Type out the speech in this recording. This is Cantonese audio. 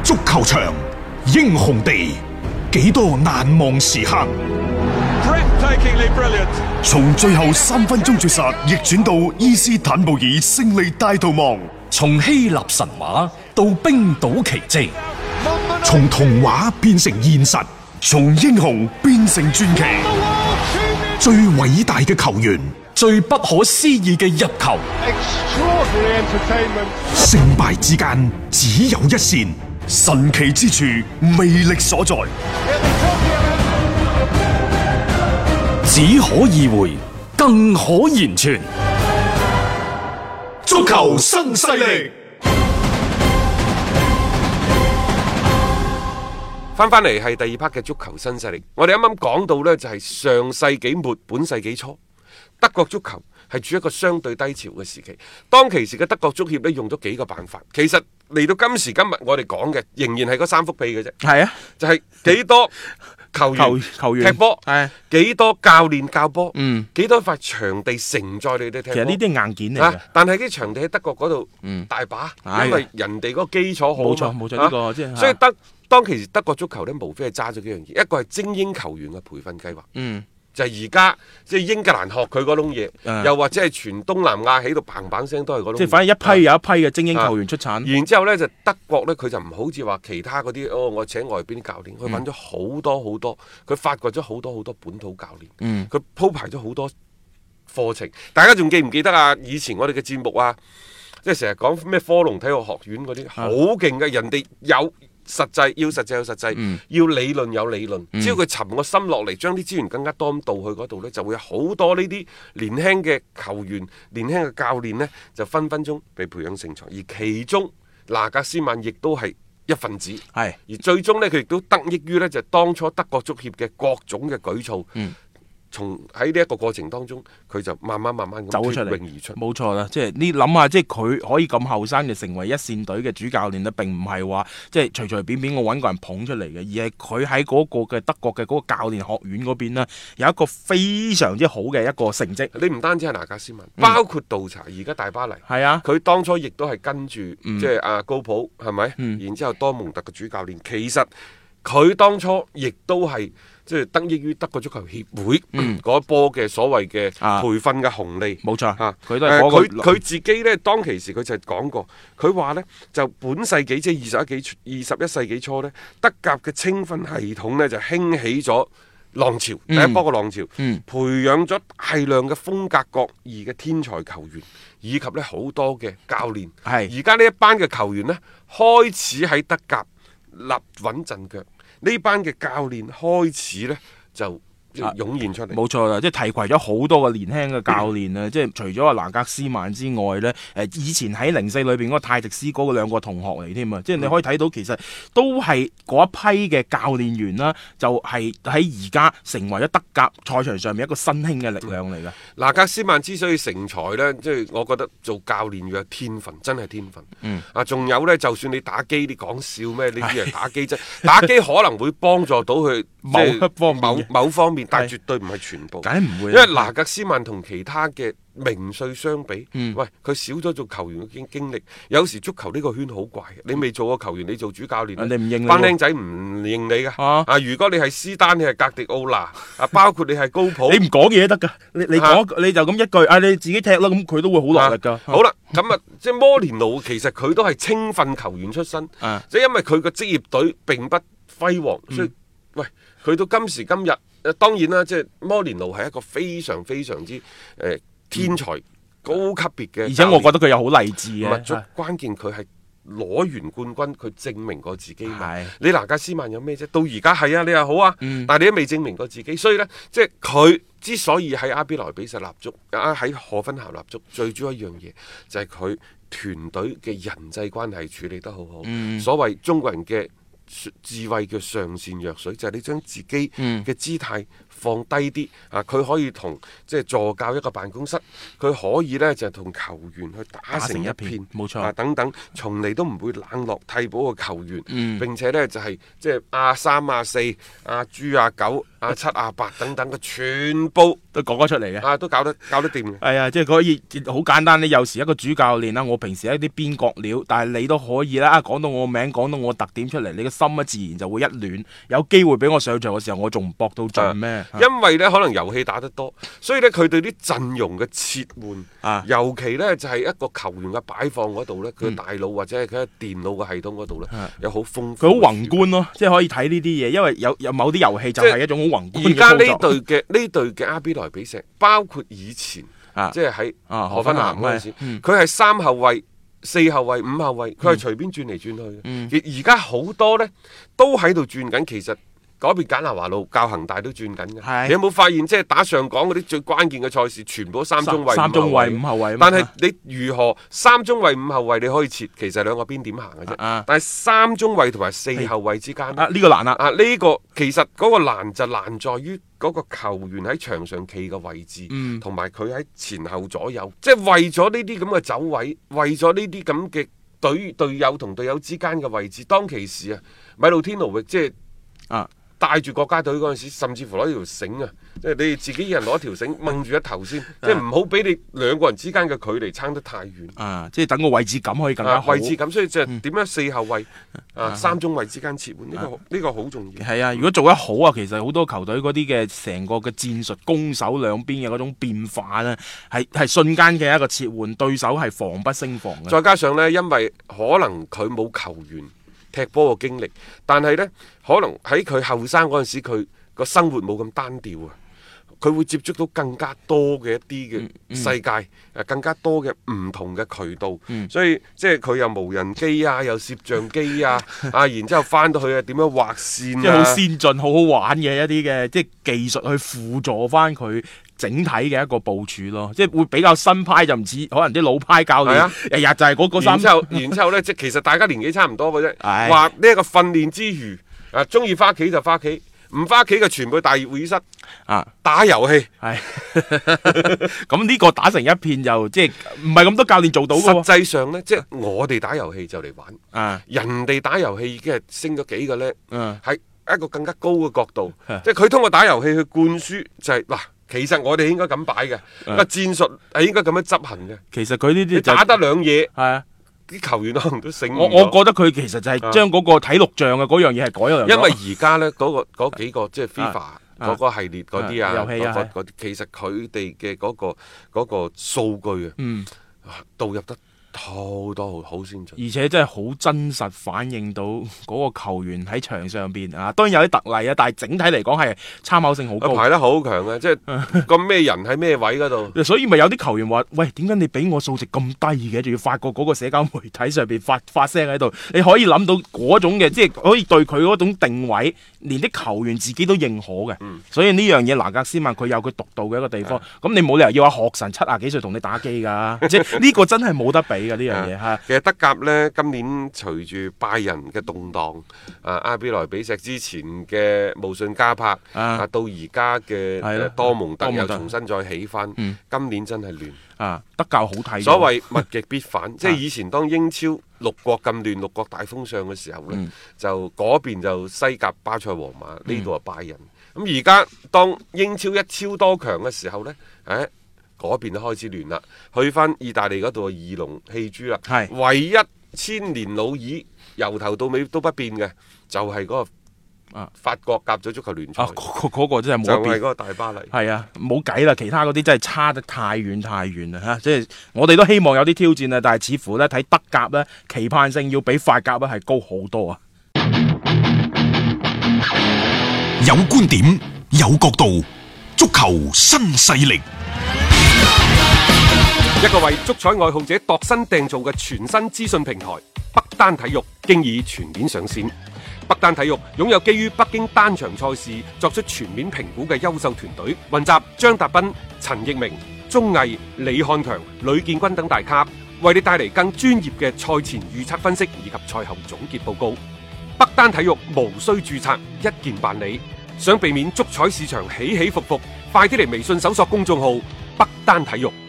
足球場，英雄地，幾多難忘時刻。 從最後3分鐘絕殺逆轉到伊斯坦布爾勝利大逃亡， 從希臘神話到冰島奇蹟， 從童話變成現實， 從英雄變成傳奇。 最偉大嘅球員， 最不可思議嘅入球， 勝敗之間只有一線， 神奇之處魅力所在， 只可意會，更可言傳。 足球新勢力。 翻嚟係第二 part 嘅足球新勢力。我哋啱啱講到呢，就係上世紀末本世紀初，德國足球係處於一個相對低潮嘅時期。當其時嘅德國足協呢，用咗幾個辦法。其實嚟到今時今日我哋講嘅仍然係嗰3幅被嘅啫。 係啊， 就係幾多球員踢波，幾多教練教波，幾多塊場地承載你哋踢波。 其實呢啲係硬件嚟嘅， 但係啲場地喺德國嗰度大把，因為人哋嗰個基礎好。 冇錯呢個即係。 所以當其時德國足球呢，無非係揸咗幾樣嘢，一個係精英球員嘅培訓計劃，就係而家即係英格蘭學佢嗰種嘢，又或者係全東南亞喺度砰砰聲都係嗰種。即係反正一批有一批嘅精英球員出產。 然之後呢，就德國呢，佢就唔好似話其他嗰啲，我請外邊啲教練，佢揾咗好多好多，佢發掘咗好多好多本土教練，佢鋪排咗好多課程。大家仲記唔記得啊？以前我哋嘅節目啊，即係成日講咩科隆體育學院嗰啲，好勁嘅，人哋有。實際有實際，要理論有理論。只要佢沉個心落嚟，將啲資源更加多咁導去嗰度呢，就會有好多呢啲年輕嘅球員、年輕嘅教練呢，就分分鐘被培養成才。而其中拿格斯曼亦都係一份子，而最終呢，佢亦都得益於呢，就當初德國足協嘅各種嘅舉措。從喺呢一個過程當中，佢就慢慢咁走出嚟， 而出。 冇錯啦，即係你諗下，即係佢可以咁後生就成為一線隊嘅主教練咧，並唔係話即係隨隨便便我揾個人捧出嚟嘅，而係佢喺嗰個嘅德國嘅嗰個教練學院嗰邊呢，有一個非常之好嘅一個成績。 你唔單止係拿格斯文，包括杜查，而家大巴黎， 係啊， 佢當初亦都係跟住即係阿高普，係咪？然之後多蒙特嘅主教練，其實佢當初亦都係。即係得益於德國足球協會嗰波嘅所謂嘅培訓嘅紅利， 冇錯嚇。 佢都係佢自己呢，當其時佢就講過，佢話呢，就本世紀即係21世紀初呢，德甲嘅青訓系統呢，就興起咗浪潮，第一波嘅浪潮，培養咗大量嘅風格各異嘅天才球員，以及呢好多嘅教練。而家呢一班嘅球員呢，開始喺德甲立穩陣腳。呢班嘅教練開始呢，就湧現出嚟， 冇錯啦，即係提攜咗好多個年輕嘅教練啊！即係除咗阿拿格斯曼之外呢，以前喺04裏邊嗰個泰迪斯嗰兩個同學嚟添啊！即係你可以睇到，其實都係嗰一批嘅教練員啦，就係喺而家成為咗德甲賽場上面一個新興嘅力量嚟嘅。 拿格斯曼之所以成才呢，即係我覺得做教練要有天分，真係天分。仲有呢，就算你打機，你講笑咩？呢啲係打機啫，打機可能會幫助到佢某方面。但係絕對唔係全部， 梗係唔會。 因為拿格斯曼同其他嘅名帥相比，喂，佢少咗做球員嘅經歷。有時足球呢個圈好怪嘅，你未做過球員，你做主教練， 人哋唔認你， 班僆仔唔認你㗎。如果你係斯丹，你係格迪奧拿，包括你係高普， 你唔講嘢都得㗎。你講你就咁一句，你自己踢啦，咁佢都會好落力㗎。 好啦，咁啊，即係摩連奴其實佢都係青訓球員出身，即係因為佢個職業隊並不輝煌，所以喂，佢到今時今日。當然啦，即係摩連奴係一個非常非常之天才高級別嘅， 而且我覺得佢又好勵志嘅。 關鍵佢係攞完冠軍，佢證明過自己嘛。你拿格斯曼有咩啫？到而家係啊，你又好啊，但係你都未證明過自己。所以呢，即係佢之所以喺阿比萊比錫立足，喺荷芬校立足，最主要一樣嘢就係佢團隊嘅人際關係處理得好好。所謂中國人嘅智慧叫上善若水，就係你將自己嘅姿態放低啲啊！佢可以同即係助教一個辦公室，佢可以呢就同球員去打成一片， 冇錯啊等等，從嚟都唔會冷落替補嘅球員，並且呢就係即係A3、A4、A豬、A9、A7、A8等等嘅全部都講得出嚟嘅， 啊都搞得掂嘅。 係啊，即係可以好簡單。你有時一個主教練啦，我平時一啲邊角料，但係你都可以啦。講到我名，講到我特點出嚟，你嘅心啊自然就會一暖。有機會俾我上場嘅時候，我仲唔搏到盡咩？ 因為呢可能遊戲打得多，所以呢，佢對啲陣容嘅切換，尤其呢就係一個球員嘅擺放嗰度呢，佢嘅大腦或者係佢嘅電腦嘅系統嗰度呢，有好豐富。 佢好宏觀咯，即係可以睇呢啲嘢，因為有某啲遊戲就係一種好宏觀嘅操作。 而家呢隊嘅阿比萊比錫，包括以前即係喺荷芬南嗰陣時，佢係3後衛、4後衛、5後衛，佢係隨便轉嚟轉去。而家好多呢都喺度轉緊，其實。嗰邊簡拿華路教恒大都轉緊嘅，你有冇發現即係打上港嗰啲最關鍵嘅賽事，全部都3中衛、 5後衛。 但係你如何3中衛、5後衛你可以切，其實兩個邊點行嘅啫。但係3中衛同埋4後衛之間， 呢個難啦。 呢個其實嗰個難就難在於嗰個球員喺場上企嘅位置，同埋佢喺前後左右，即係為咗呢啲咁嘅走位，為咗呢啲咁嘅隊友同隊友之間嘅位置，當其時啊，米路天奴域即係帶住國家隊嗰陣時，甚至乎攞條繩啊，即係你哋自己一人攞條繩掹住一頭先，即係唔好俾你兩個人之間嘅距離差得太遠。 即係等個位置感可以更加好。 位置感，所以就點樣4後衛、3中衛之間切換，呢個好重要。 係啊，如果做得好啊，其實好多球隊嗰啲嘅成個嘅戰術攻守兩邊嘅嗰種變化呢，係瞬間嘅一個切換，對手係防不勝防嘅。 再加上呢，因為可能佢冇球員踢波嘅經歷，但係呢，可能喺佢後生嗰陣時，佢個生活冇咁單調啊，佢會接觸到更加多嘅一啲嘅世界，更加多嘅唔同嘅渠道，所以即係佢又無人機啊，又攝像機啊，然之後翻到去點樣畫線， 即係好先進、好好玩嘅一啲嘅即係技術去輔助翻佢整體嘅一個部署咯，即係會比較新派，就唔似可能啲老派教練日日就係嗰3。 然之後咧，即係其實大家年紀差唔多嘅啫。話呢一個訓練之餘，中意翻屋企就翻屋企，唔翻屋企嘅全部大熱會議室打遊戲。 咁呢個打成一片又即係唔係咁多教練做到嘅。 實際上呢，即係我哋打遊戲就嚟玩，人哋打遊戲已經係升咗幾個呢，係一個更加高嘅角度。即係佢通過打遊戲去灌輸就係嗱。其實我哋應該咁擺嘅，個戰術係應該咁樣執行嘅。 其實佢呢啲打得兩嘢， 係啊， 啲球員可能都醒。 我覺得佢其實就係將嗰個睇錄像嘅嗰樣嘢係改咗。 因為而家呢嗰幾個即係 FIFA 嗰個系列嗰啲遊戲嗰啲，其實佢哋嘅嗰個數據導入得多好先進， 而且真係好真實反映到嗰個球員喺場上邊當然有啲特例但係整體嚟講係參考性好高， 排得好強嘅，即係個咩人喺咩位嗰度。 所以咪有啲球員話：喂，點解你俾我數值咁低嘅？仲要發覺嗰個社交媒體上邊發聲喺度，你可以諗到嗰種嘅，即係可以對佢嗰種定位，連啲球員自己都認可嘅。所以呢樣嘢，拿格斯曼佢有佢獨到嘅一個地方。咁你冇理由要話學神70幾歲同你打機㗎，即係呢個真係冇得比。呢樣嘢嚇， 其實德甲呢，今年隨住拜仁嘅動盪，阿比萊比錫之前嘅慕遜加柏，到而家嘅多蒙特又重新再起翻，今年真係亂德甲好睇。 所謂物極必反，即係以前當英超六國咁亂、六國大風尚嘅時候呢，就嗰邊就西甲巴塞、皇馬，呢度係拜仁。咁而家當英超一超多強嘅時候呢，嗰邊都開始亂啦，去翻意大利嗰度二龍戲珠啦，唯一千年老二由頭到尾都不變嘅，就係嗰個法國甲組足球聯賽， 嗰個真係冇得變， 就係嗰個大巴黎。 係啊，冇計啦，其他嗰啲真係差得太遠啦嚇，即係我哋都希望有啲挑戰啊，但係似乎咧睇德甲咧期盼性要比法甲咧係高好多啊！ 有觀點，有角度，足球新勢力。 一個為足彩愛好者度身訂造嘅全新資訊平台北單體育經已全面上線。北單體育擁有基於北京單場賽事作出全面評估嘅優秀團隊，雲集張達斌、陳奕明、鐘毅、李漢強、呂建軍等大咖，為你帶嚟更專業嘅賽前預測分析以及賽後總結報告。 北單體育無需註冊，一鍵辦理。想避免足彩市場起起伏伏，快啲嚟微信搜索公眾號北單體育。